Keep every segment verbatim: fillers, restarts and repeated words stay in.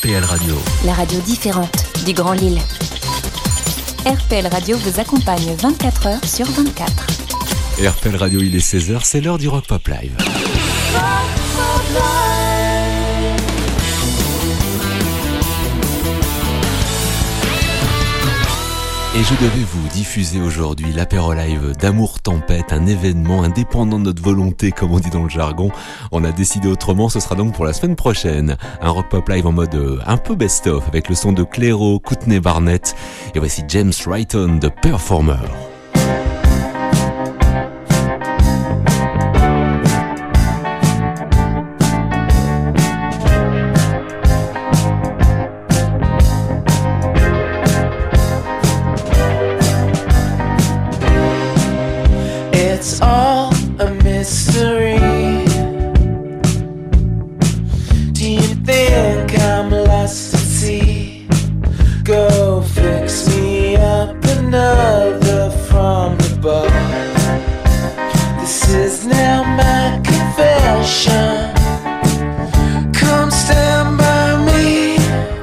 P L Radio. La radio différente du Grand Lille. R P L Radio vous accompagne vingt-quatre heures sur vingt-quatre. R P L Radio, il est seize heures, c'est l'heure du Rock Pop Live. Rock Pop Live. Et je devais vous diffuser aujourd'hui l'apéro live d'Amour Tempête, un événement indépendant de notre volonté, comme on dit dans le jargon. On a décidé autrement, ce sera donc pour la semaine prochaine. Un rock pop live en mode euh, un peu best-of, avec le son de Clairo, Courtney Barnett. Et voici James Wrighton de Performer. It's all a mystery. Do you think I'm lost at sea? Go fix me up another from above. This is now my confession. Come stand by me.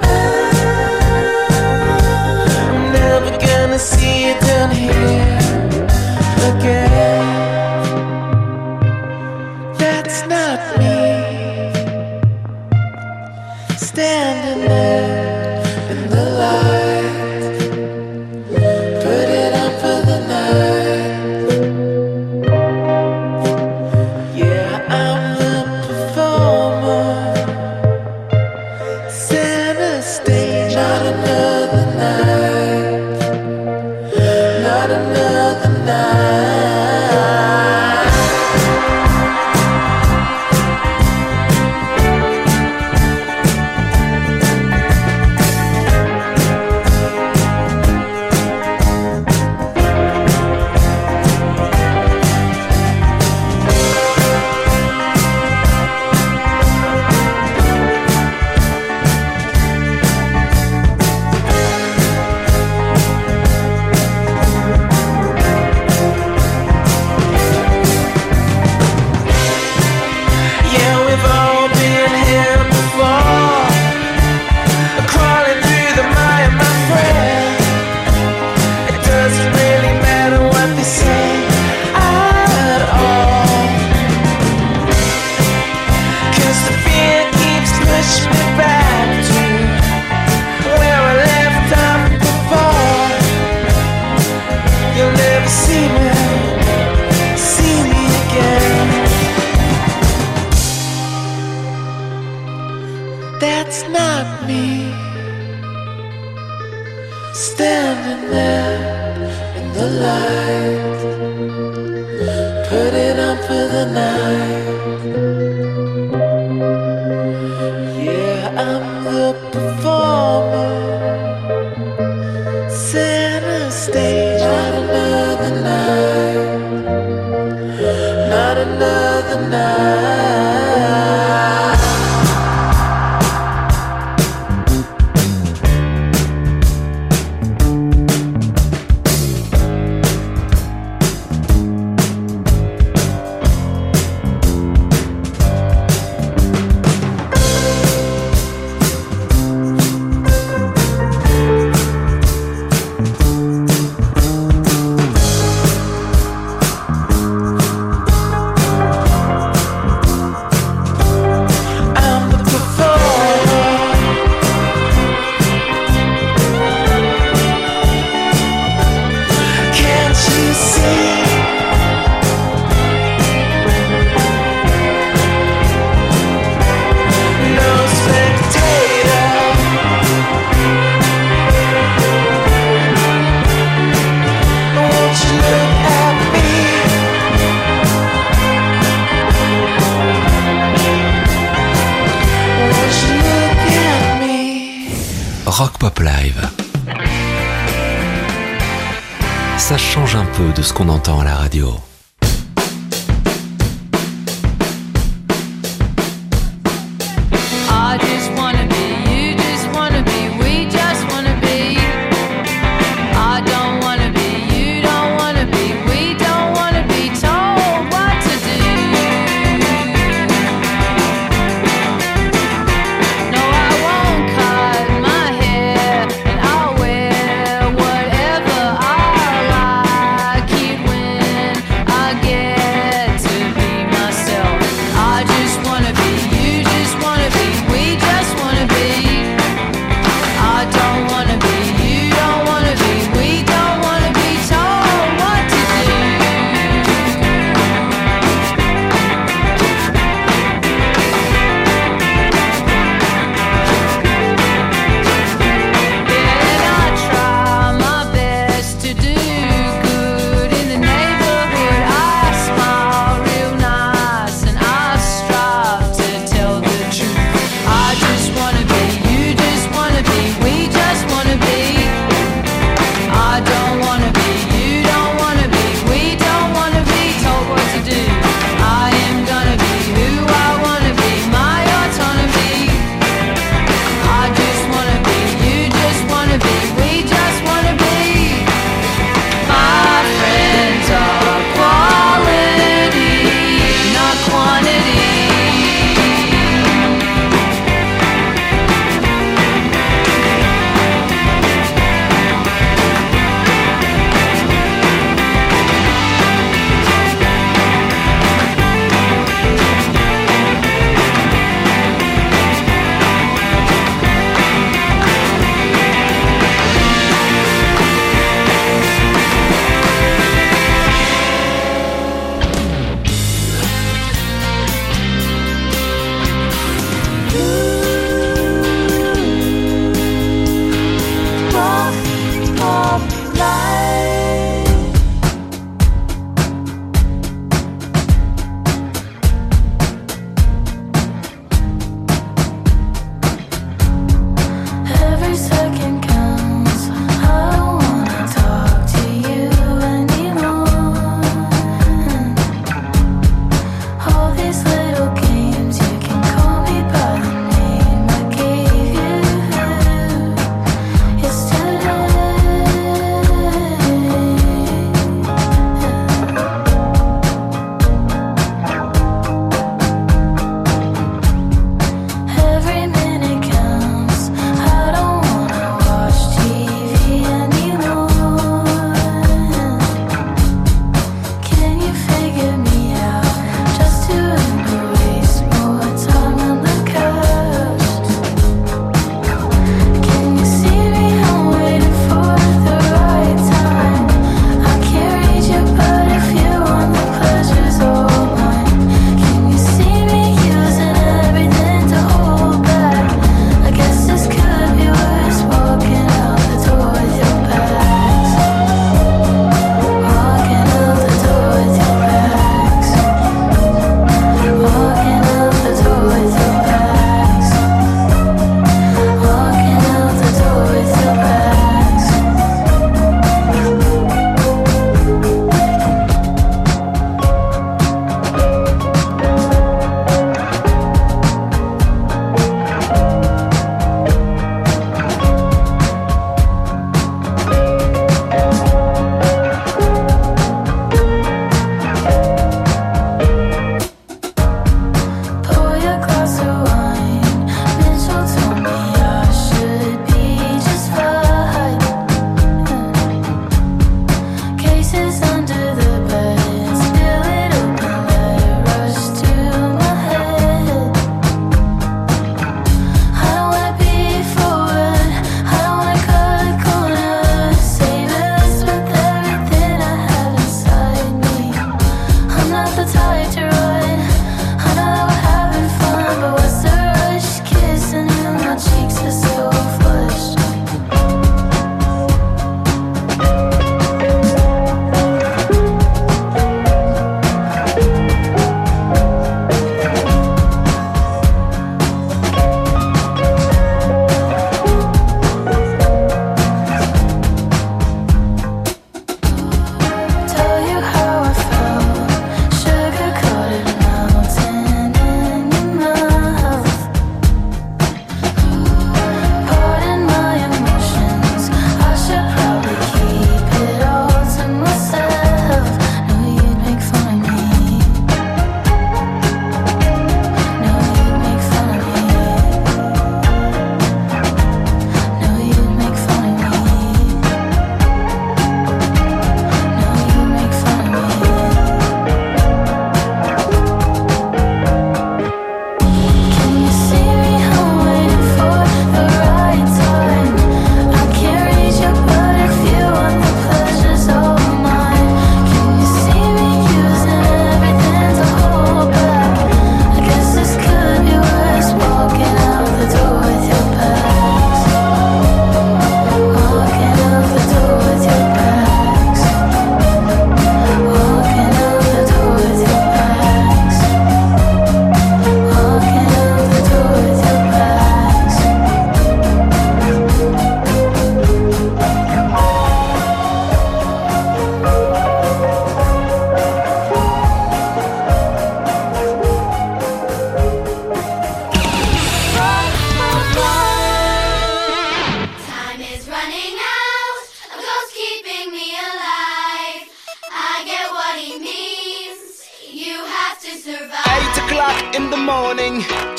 I'm never gonna see you down here again. That's not me, standing there in the light. Put it up for the night. Yeah, I'm the performer. Center stage, not another night. Not another night. That's not me, standing there in the light. Put it on for the night. Yeah, I'm the performer. Center stage, not another night. Not another night. Rock Pop Live. Ça change un peu de ce qu'on entend à la radio. I just wanna be, you just wanna be, we just wanna be. I don't wanna be, you don't wanna be, we don't wanna be told what to do. No, I won't call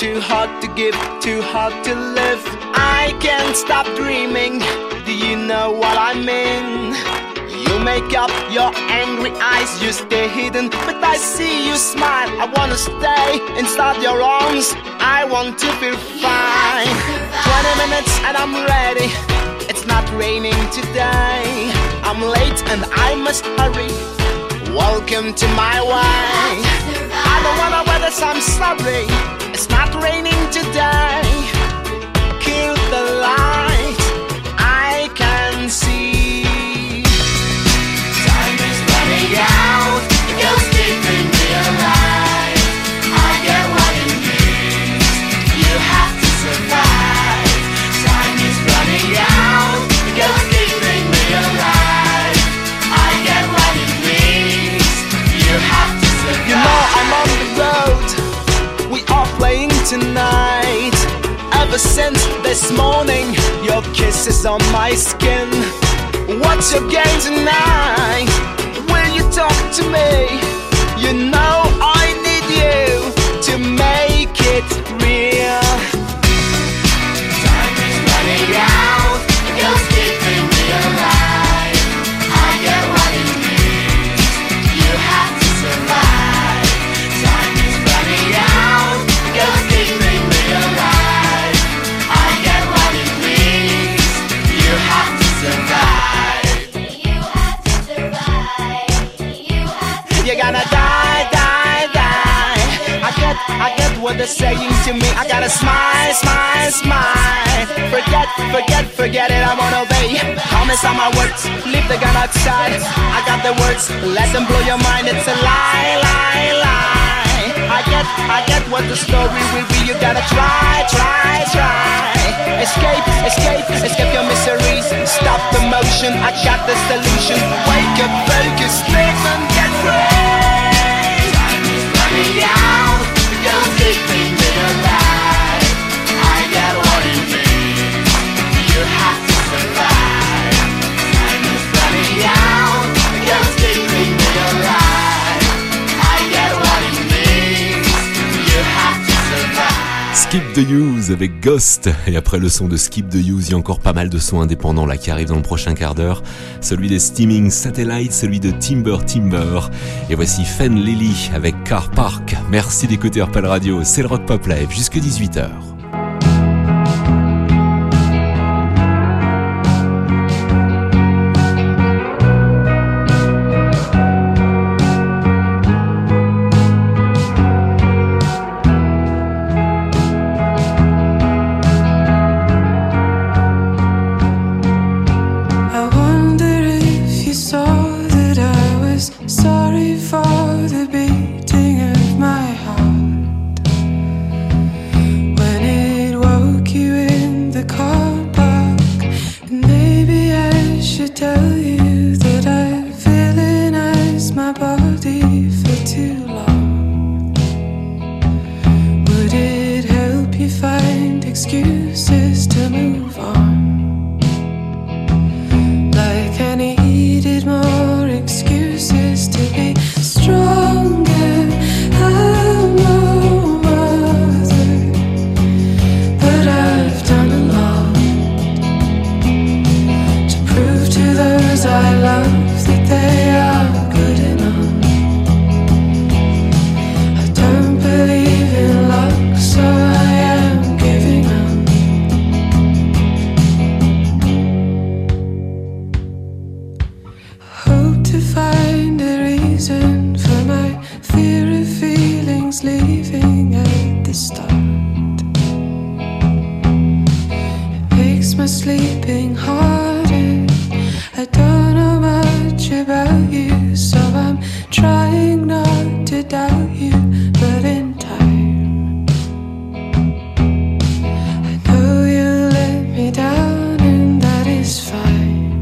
too hard to give, too hard to live. I can't stop dreaming. Do you know what I mean? You make up your angry eyes, you stay hidden, but I see you smile. I wanna stay inside your arms, I want to feel fine. Twenty minutes and I'm ready. It's not raining today. I'm late and I must hurry. Welcome to my way. I don't wanna wear this, I'm sorry. It's not raining today. Kill the light, I can see. Time is running out, the ghost keeping me alive. I get what it means, you have to survive. Time is running out, the ghost keeping me alive. I get what it means, you have to survive. You know I'm on the road, we are playing tonight. Ever since this morning, your kiss is on my skin. What's your game tonight? Will you talk to me? You know I need you to make it real. Time is running out, the ghost keeping me alive. I get what it means, you have to survive. Time is running out, the ghost keeping me alive. I get what it means, you have to survive. You have to survive. You have to You're gonna die, die, die. I get, I get what they're saying to me. I gotta smile, smile, smile. Forget, forget, forget it, I won't obey. Promise on my words, leave the gun outside. I got the words, let them blow your mind. It's a lie, lie, lie. I get, I get what the story will be. You gotta try, try, try. Escape, escape, escape your miseries. Stop the motion, I got the solution. Wake up, focus, live and get free. Time is running out, the ghost keeping me alive. I get what it means, you have to survive. Time is running out, the ghost keeping me alive. I get what it means, you have to survive. Skip the Use avec Ghost. Et après le son de Skip the Use, il y a encore pas mal de sons indépendants là qui arrivent dans le prochain quart d'heure. Celui des Steaming Satellite, celui de Timber Timber. Et voici Fen Lily avec Car Park. Merci d'écouter R P L Radio, c'est le Rock Pop Live jusque dix-huit heures. I wonder if you saw that I was sorry for the beating of my heart when it woke you in the car park. And maybe I should tell you that I've villainized my body for too long. Would it help you find excuses to move on? Like I needed more excuses to be stronger. I'm no mother, but I've done a lot to prove to those I love that they are good enough. I don't believe in luck, so I am giving up. Hope to find a reason for my fear of feelings leaving at the start. It makes my sleeping harder. I don't know much about you, so I'm trying not to doubt you, but in time I know you let me down, and that is fine.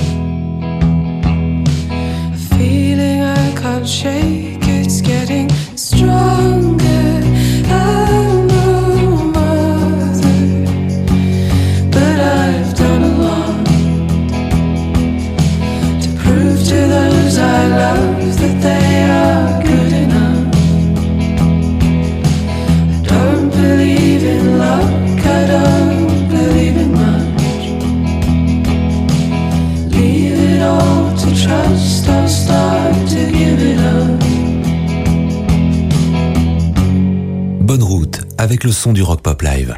A feeling I can't shake, it's getting stronger. I'm no mother, but I've done a lot to prove to those I love that they are good. avec le son du Rock Pop Live.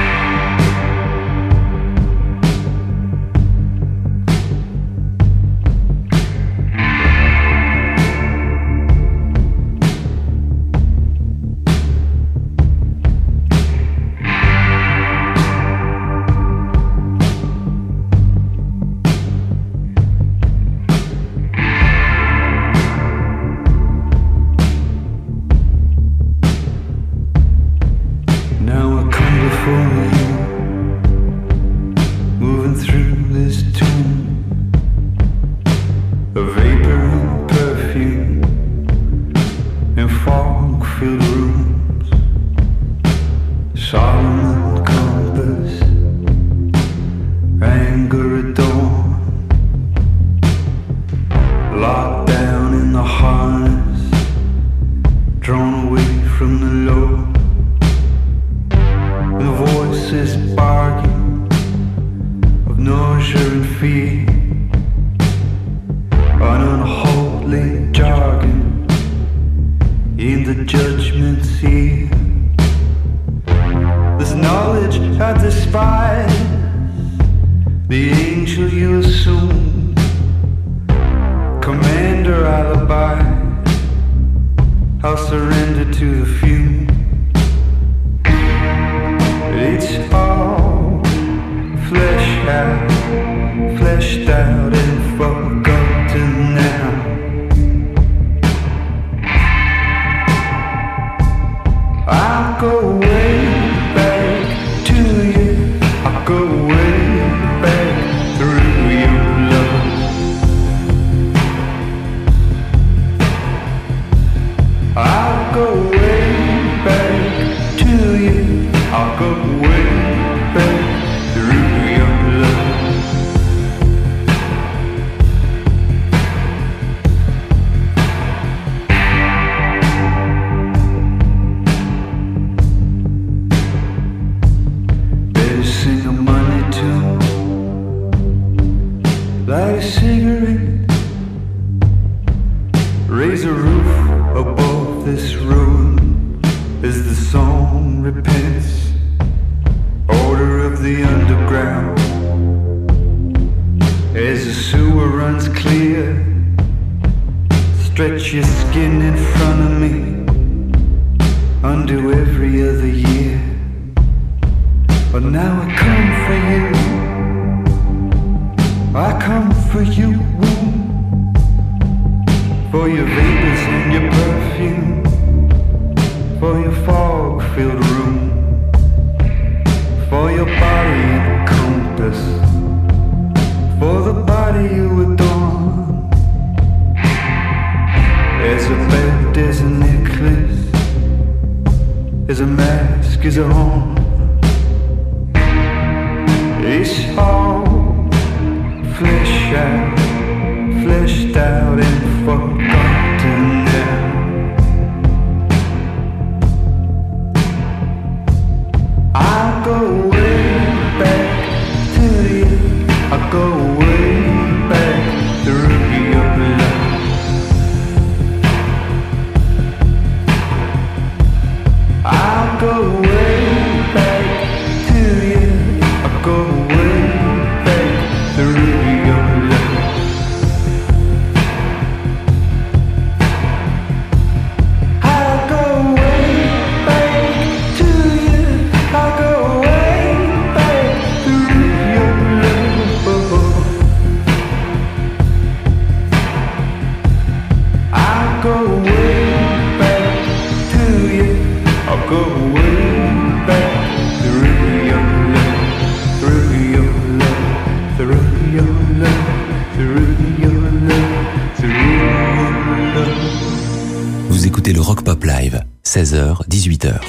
Vous écoutez le Rock Pop Live, seize heures, dix-huit heures.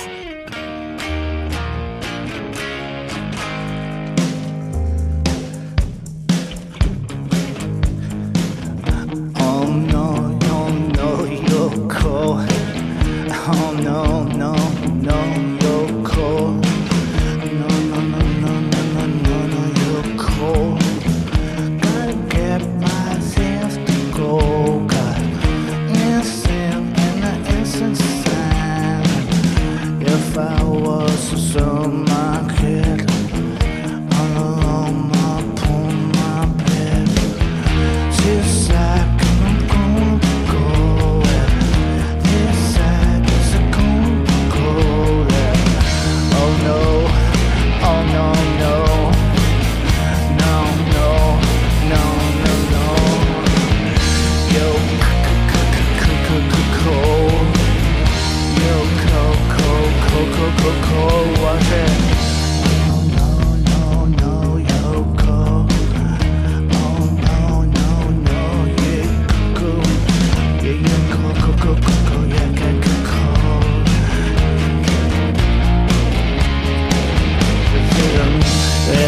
If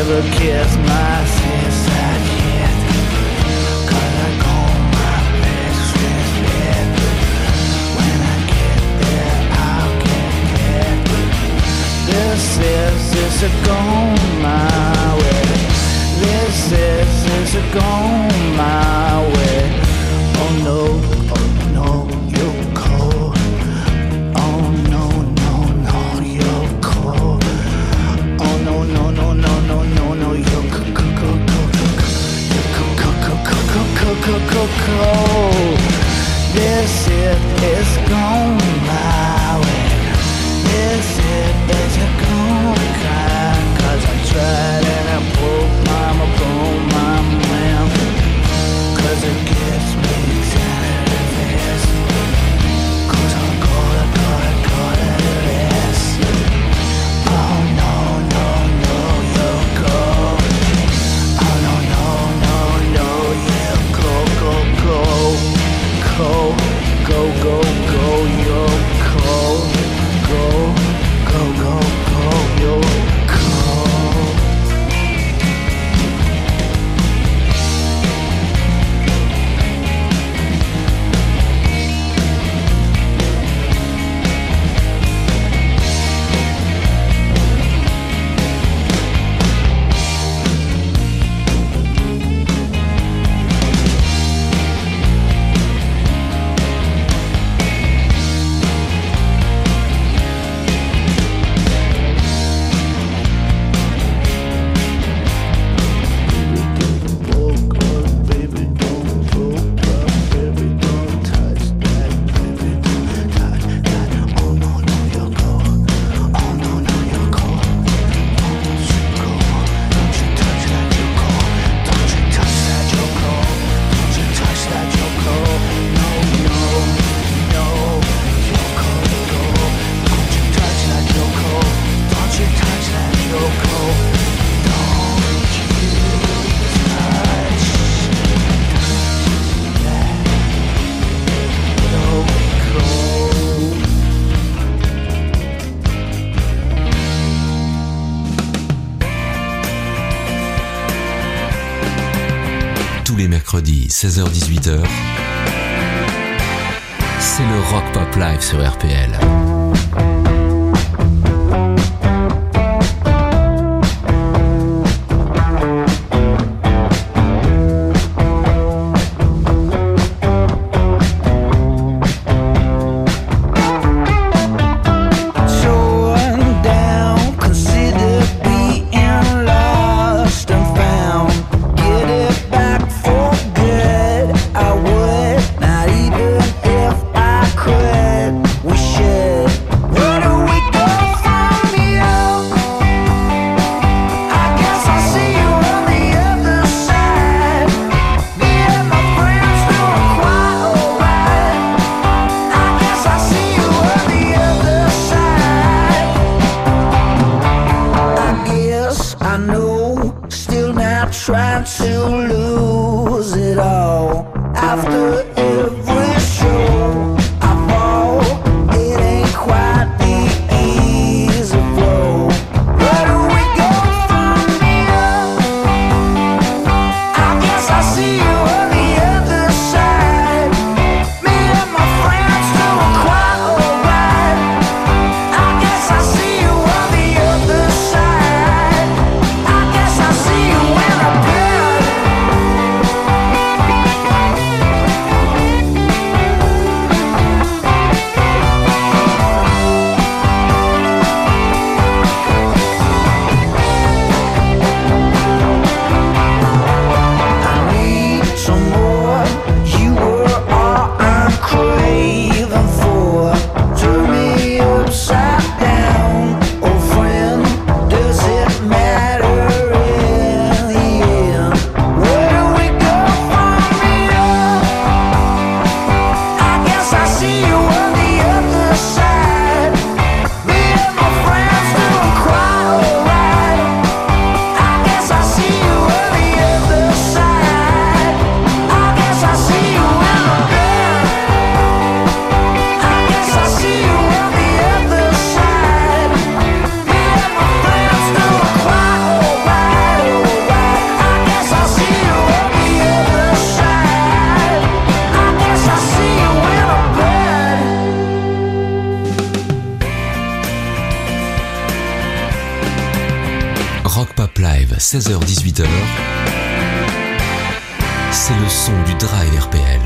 ever kiss my sister yet. Cause I comb my best with it. When I get there, I'll get it. This is, this is going my way. This is, this is going my way. Oh no, oh no, you're cold. Oh no, no, no, you're cold. Oh no, no, no, no, no, no, no, you're cold, cold, cold, cold, cold, cold, cold, cold, cold, cold. This is, is going my way. This is, is going kind. Cause I tried and I broke my, my bone, my man. Cause it gets me tired of this. Cause I'm gonna, gonna, gonna do this. Oh no, no, no, you're cold. Oh no, no, no, no, you're cold, go, go. Cold, go, go, go, you're cold. Go, go, go, go, you're cold. Tous les mercredis, seize heures dix-huit heures, c'est le Rock Pop Live sur R P L. I Pop Live, seize heures dix-huit heures. C'est le son du Drive R P L.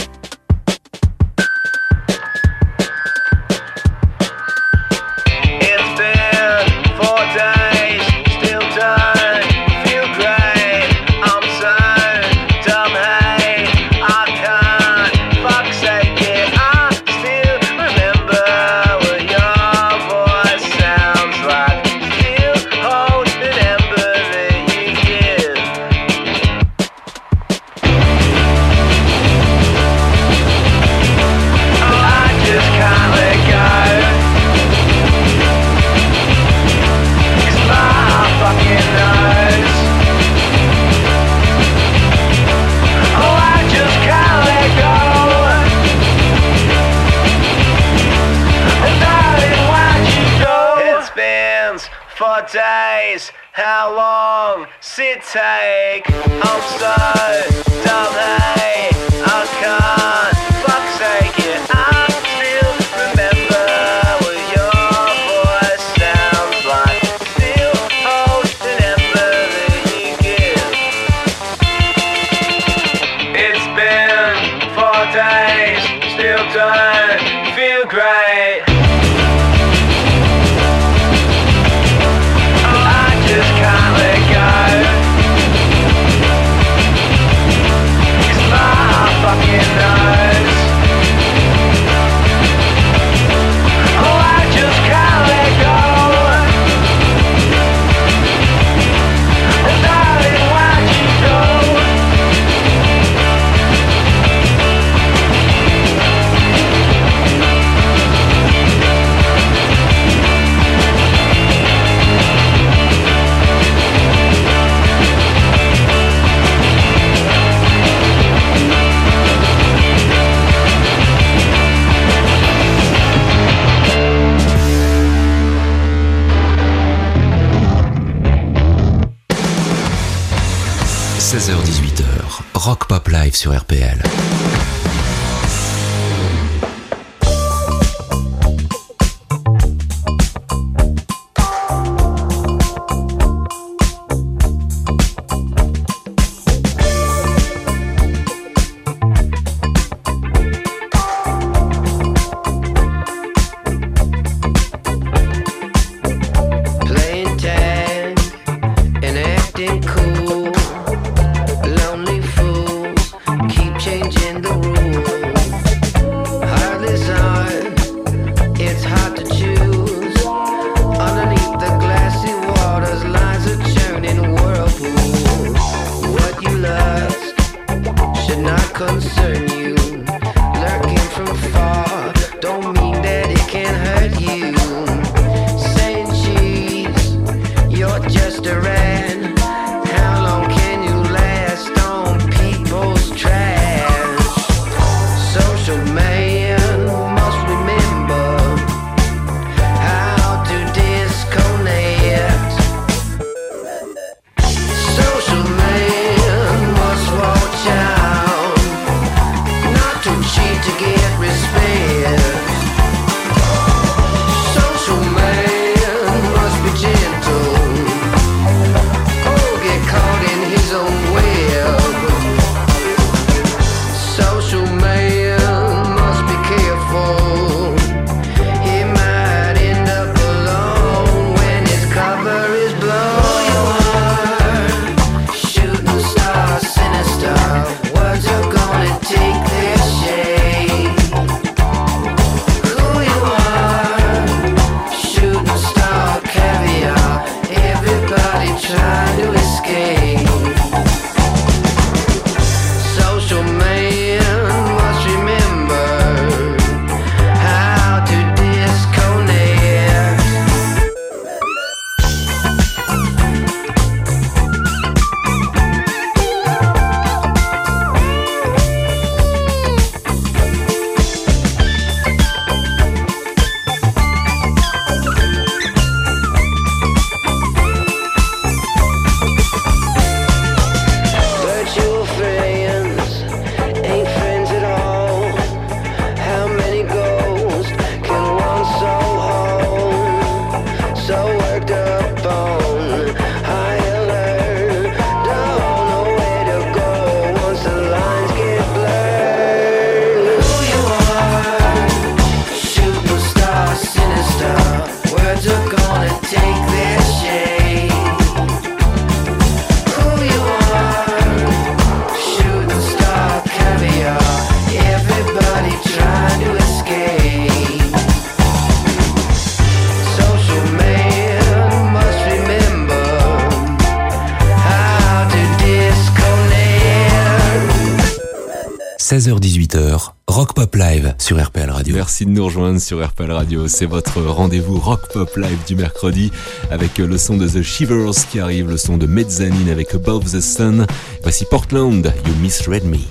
Days, how long it take? I'm so dumb, hey, I can't fuck sake it. I still remember what your voice sounds like. Still hold the number that you give. It's been four days, still don't feel great. Can't let go, 'cause my heart fucking knows. Oh, I just can't let go. And darling, why'd you go? seize heures dix-huit heures, Rock Pop Live sur R P L. Playing tag and acting cool. Lonely fools keep changing the rules. seize heures dix-huit heures, Rock Pop Live sur R P L Radio. Merci de nous rejoindre sur R P L Radio. C'est votre rendez-vous Rock Pop Live du mercredi avec le son de The Shivers qui arrive, le son de Mezzanine avec Above the Sun. Voici Portland, You Misread Me.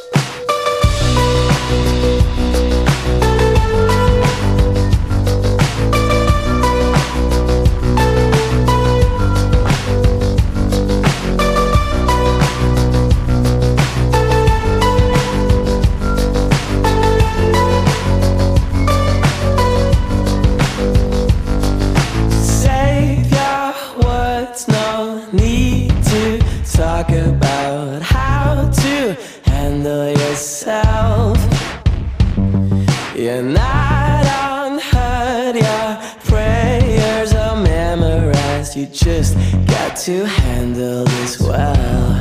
To handle this well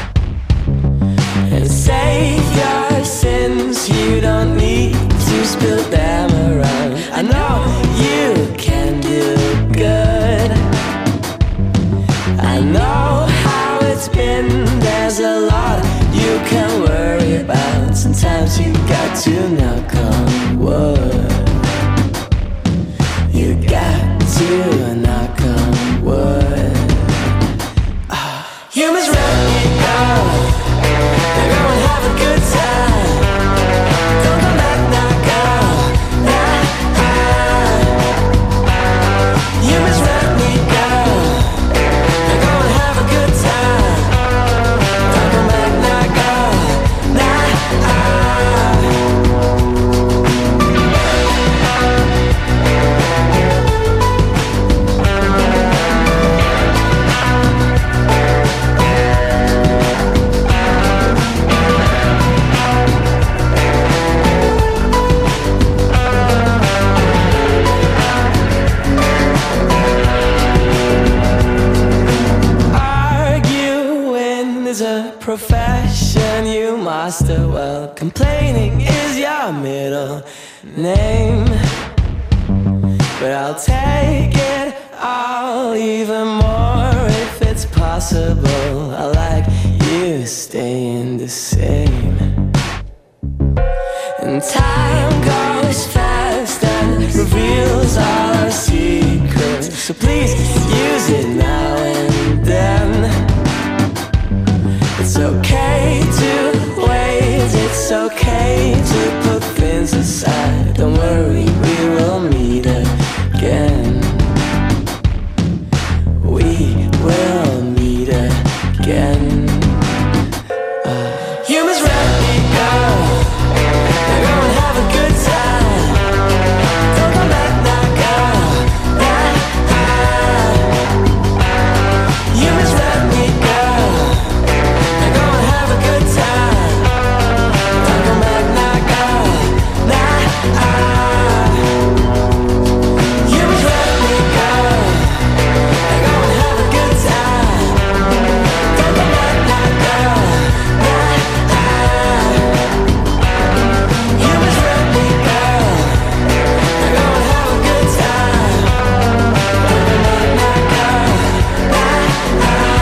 and save your sins. You don't need to spill them around. I know you can do good. I know how it's been. There's a lot you can worry about. Sometimes you got to knock on wood. You got to knock on wood. You misread me, girl. You're gonna have a good time. Don't come back now, girl. Nah. You misread me, girl. You're gonna have a good time. Don't come back now, girl. Nah. Profession you master well. Complaining is your middle name, but I'll take it all even more if it's possible. I like you staying the same. And time goes fast and reveals all our secrets, so please use it now and then. It's okay to wait, it's okay to put things aside. Don't worry, we will meet again. We will meet again. Uh, you misread me, girl. You're gonna have a good time. Don't come back now, girl. Nah. You misread me, girl. Have a good time. Don't come back now, girl. Nah. You misread me, girl. You're gonna have a good time. Don't come back now, girl. Nah. You misread me, girl. You're gonna have a good time. Don't come back now, girl. Nah.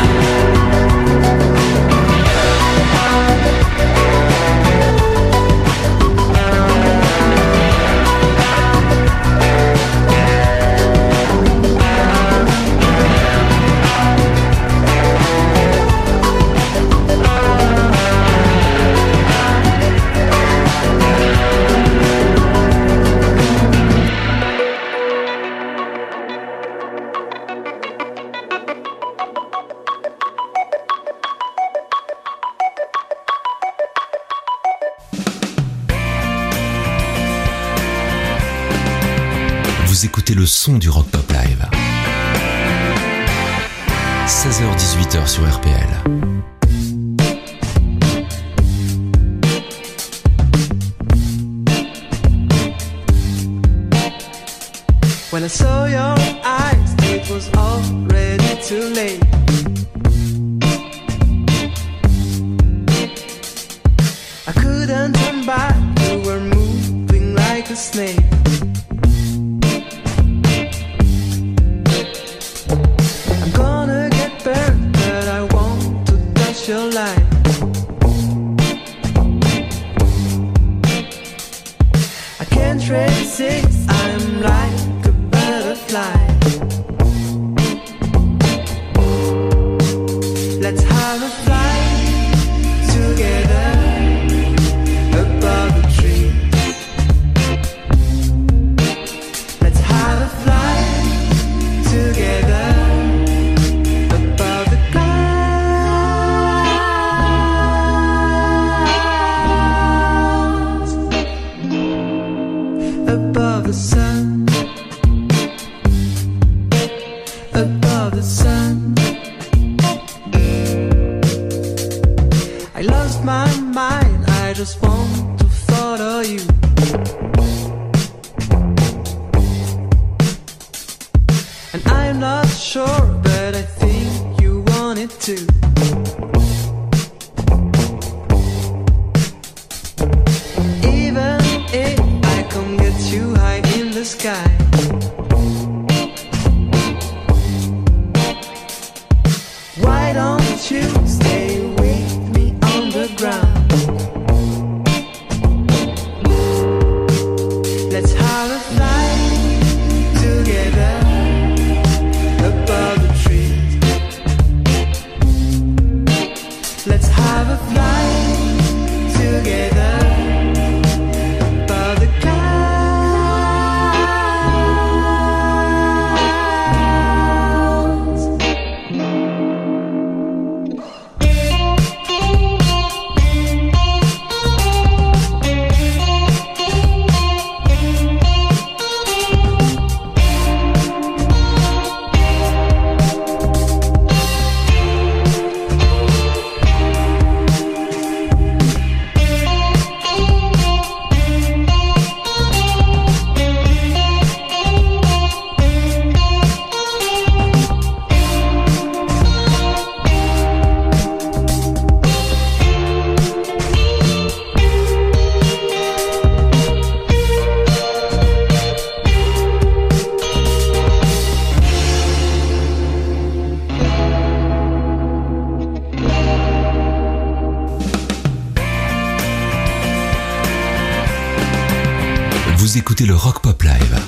Vous écoutez le son du Rock Pop Live. seize heures dix-huit heures sur R P L. When I saw your eyes, it was already too late. I couldn't turn back, you were moving like a snake. I'm gonna get burned, but I want to touch your light. lost my mind. I just want to follow you. And I'm not sure, but I think you want it too. Even if I can't get too high in the sky, why don't you stay with me on the ground? Let's have a flight together above the trees. Let's have a flight together above the clouds. Vous écoutez le Rock Pop Live.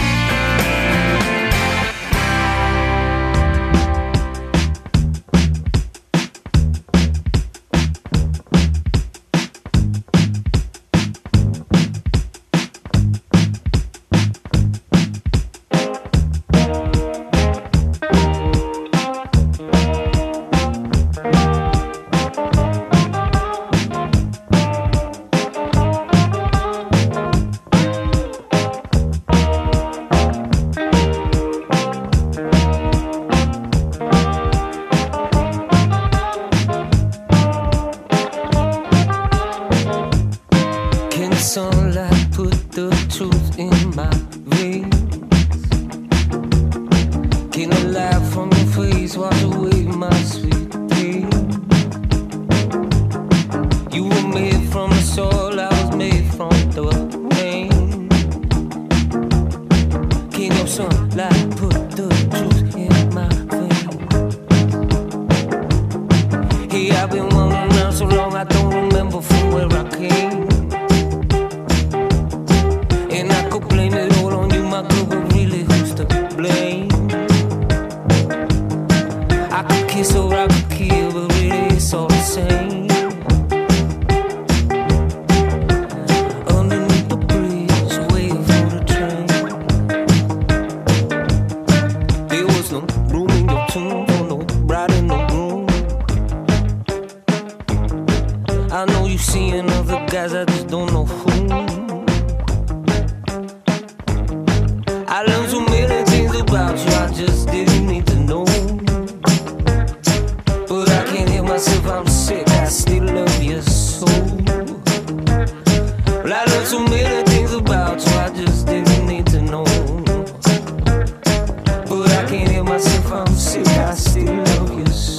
Sunlight put the truth in my veins. Can the light from your face wash away my sweet pain? You were made from the soul, I was made from the rain. Can your sunlight put the truth in my veins? Hey, I've been wandering around so long I don't remember from where I came. So I could kill, but really it's all the same. Underneath the bridge, waiting for the train. There was no room in your tomb for no bride in the room. I know you seeing other guys, I just don't know who. I learned so many things about you, I just didn't need to know. Myself, I'm sick, I still love you so. Well, I learned so many things about you, I just didn't need to know. But I can't hear myself, I'm sick, I still love you so.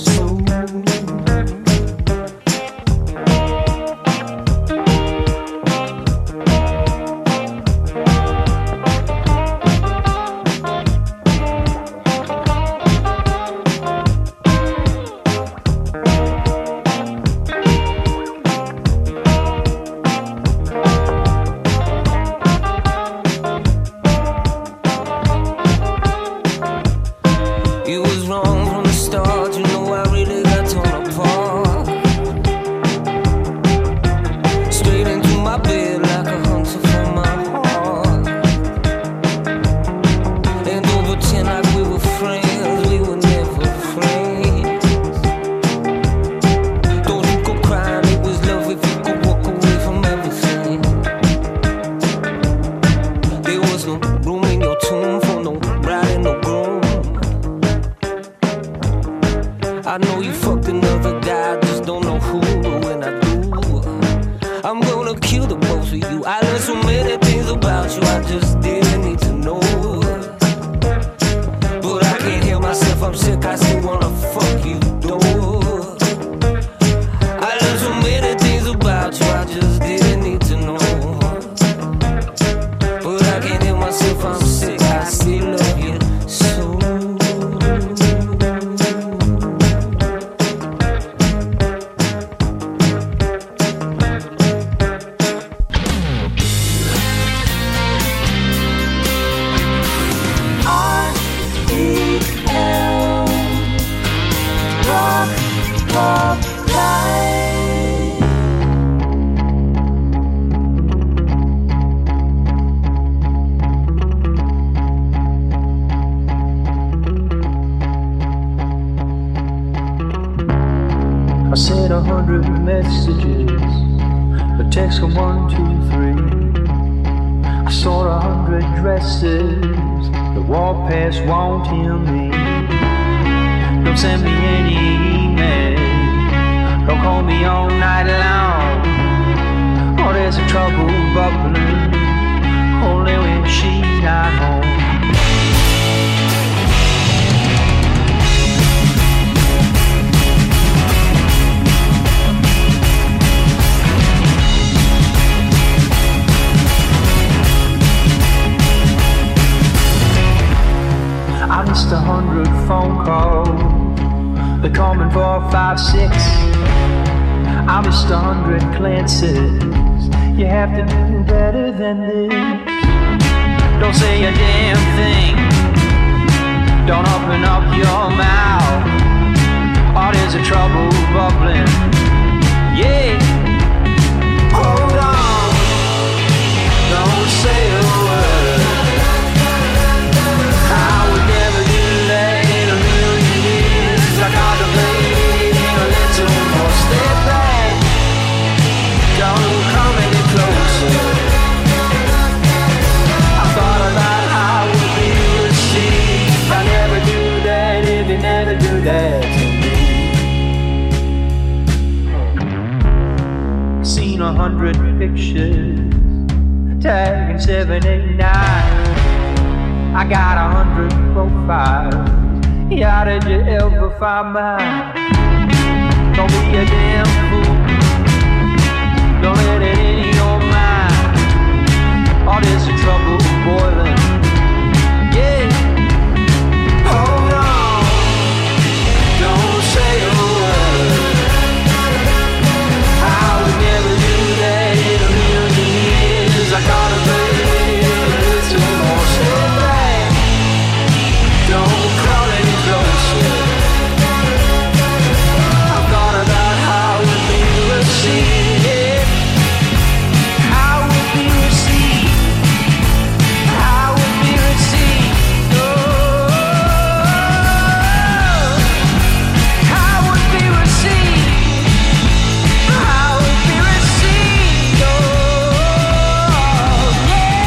I know you fucked another guy, I just don't know who. But when I do, with you. I learned so many things about you I just didn't need to know. But I can't help myself, I'm sick, I still wanna fuck you, though. I learned so many things about you I just didn't need to know. But I can't help myself, I'm sick, I still love you so. I sent a hundred messages, but text come one, two, three. I saw a hundred dresses, the walk past won't hear me. Don't send me any email, don't call me all night long. Oh, there's a trouble bubbling, only when she's not home. I missed a hundred phone calls, they're coming for five, six. I missed a hundred glances, you have to do better than this. Don't say a damn thing, don't open up your mouth. Oh, there's a trouble bubbling, yeah. Hold on, don't say a word. I would never do that in a million years. I contemplating a little more. Step back, don't come any closer. I thought about how would be received. I never do that if you never do that to me. Seen a hundred pictures, tagging seven, eight, nine. I got a hundred profiles, yeah, how did you ever find mine? Don't be a damn fool, don't let it in your mind. All this trouble boiling, yeah. Hold on, don't say a word. I would never do that in a million years. I gotta play a little more. Step back, don't crawl any closer. I've thought about how it would be received. How it would be received. How it would be received. Oh, how it would be received. How it would be received. Oh, yeah.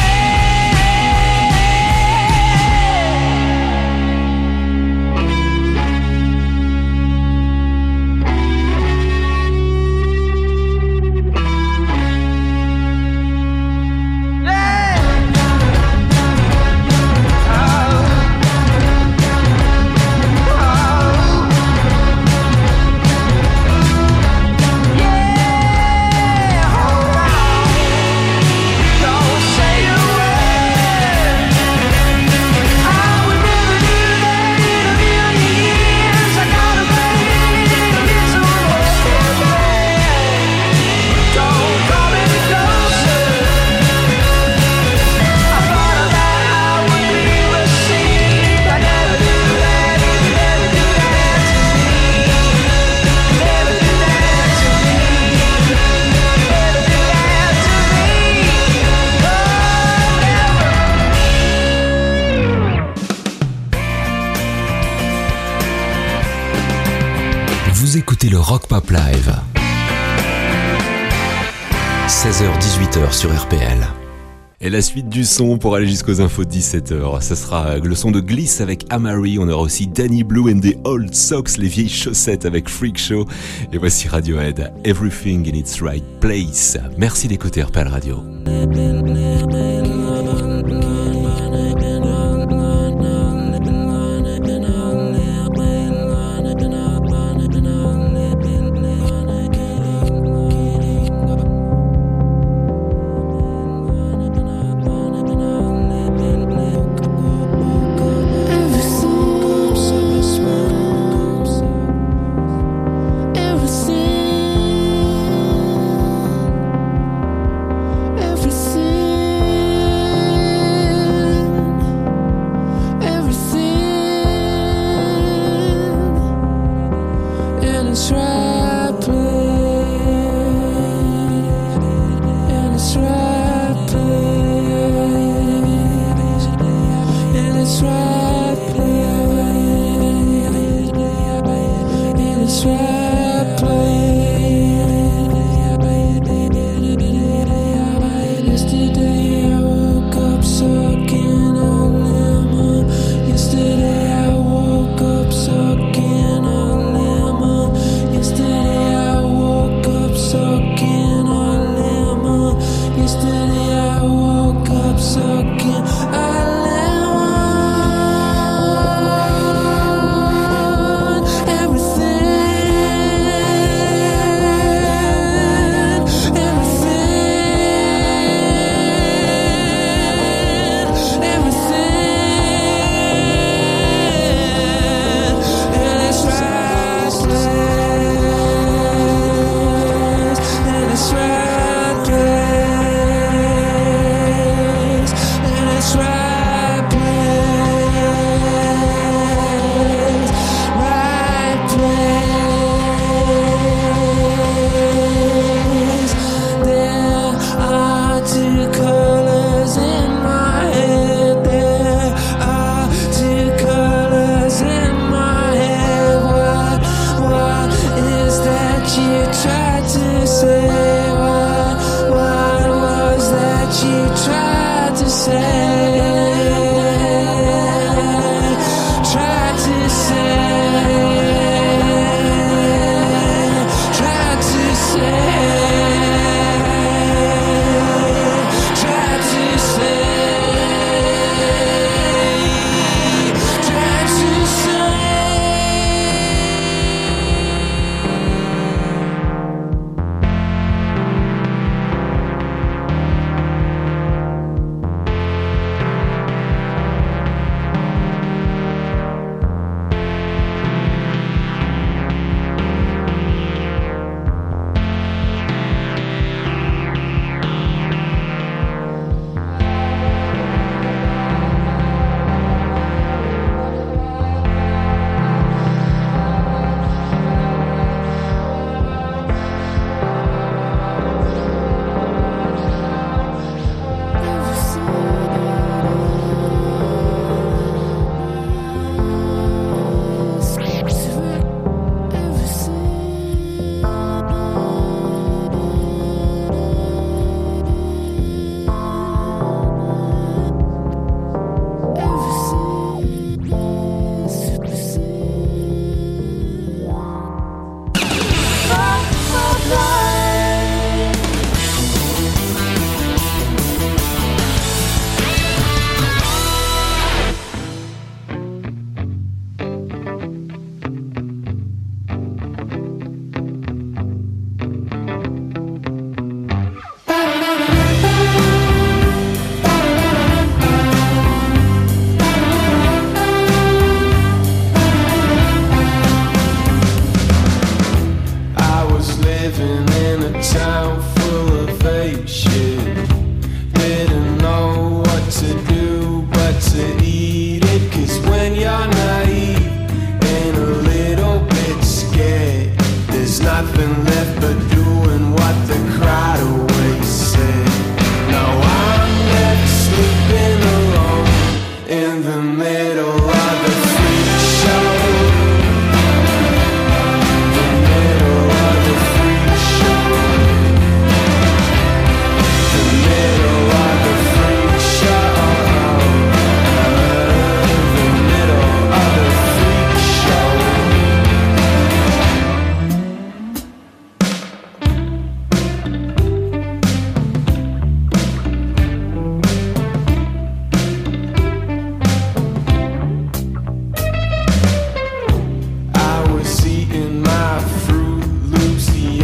Vous écoutez le Rock Pop Live. seize heures dix-huit heures sur R P L. Et la suite du son pour aller jusqu'aux infos de dix-sept heures. Ça sera le son de Gliss avec Amari. On aura aussi Danny Blue and the Old Socks, les vieilles chaussettes avec Freak Show. Et voici Radiohead, Everything in its Right Place. Merci d'écouter R P L Radio.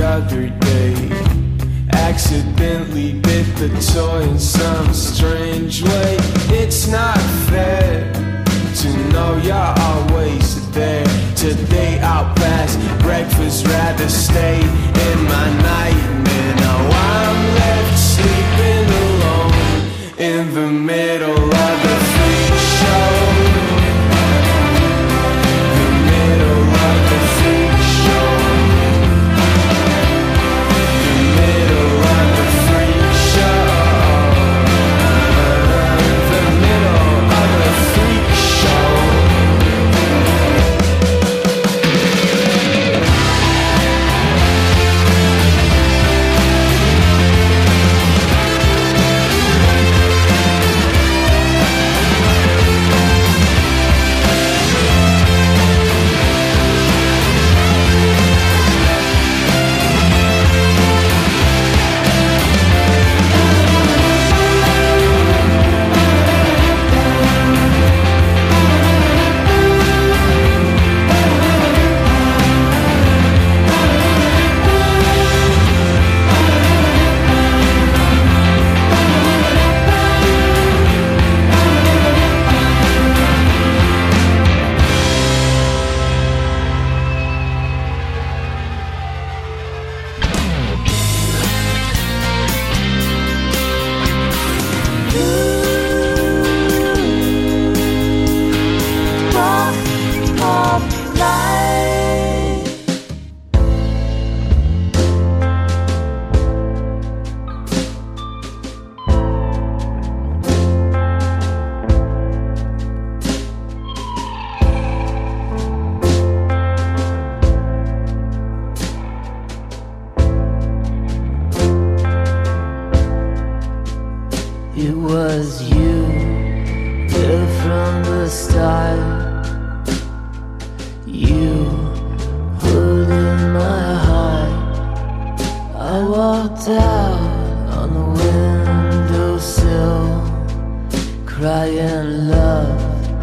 other day. Accidentally bit the toy in some strange way. It's not fair to know you're always there. Today I'll pass breakfast, rather stay in my nightmare. Now I'm left sleeping alone in the middle of the freak show. The middle of the freak show. The middle of the freak show. The middle of the freak show. It was you, there from the start. You holding my heart. I walked out on the windowsill, crying love,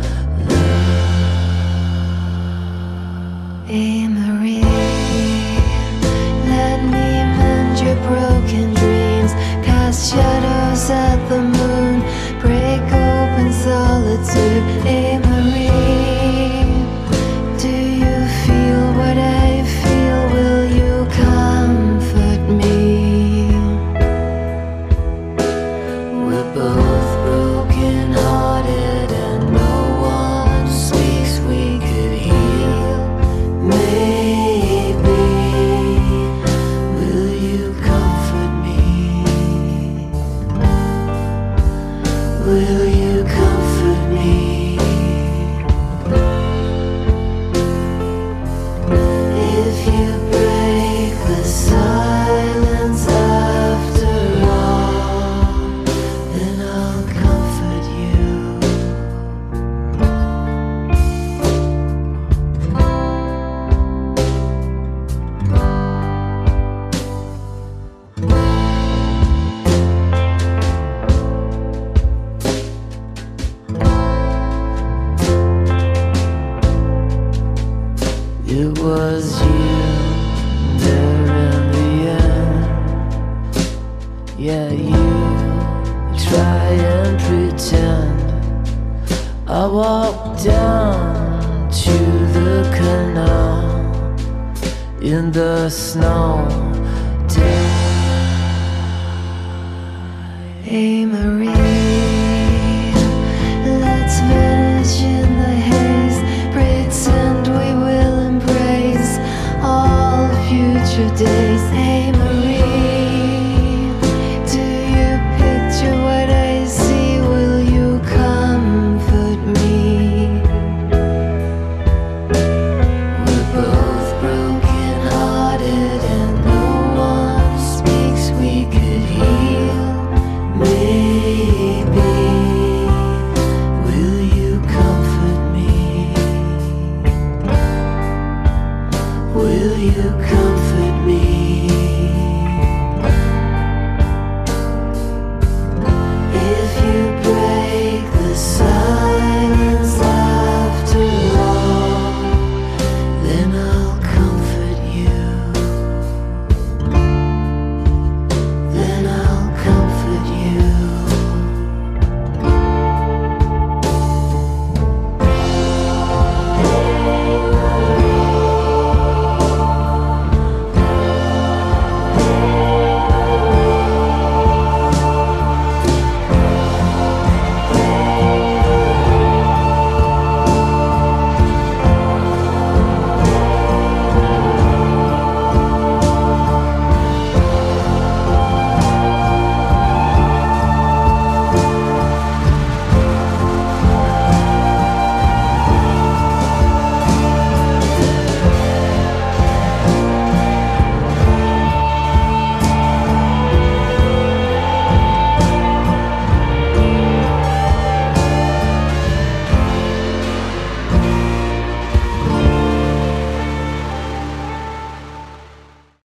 love. Hey Marie, let me mend your broken dreams. Cast shadows at the moon, break open solitude. Hey Marie, do you feel what I feel? Will you comfort me? We're both broken hearted and no one speaks we could heal. Maybe, will you comfort me? Will you comfort me? If you break the silence after all, then I'll comfort you. It was you there in the end. Yeah, you try and pretend. I walked down to the canal in the snow. Hey Marie, let's vanish in the haze. Pretend we will embrace all future days. Hey Marie, do you picture what I see? Will you comfort me? We're both broken hearted and no one speaks we could heal. Maybe, will you comfort me? Will you comfort me?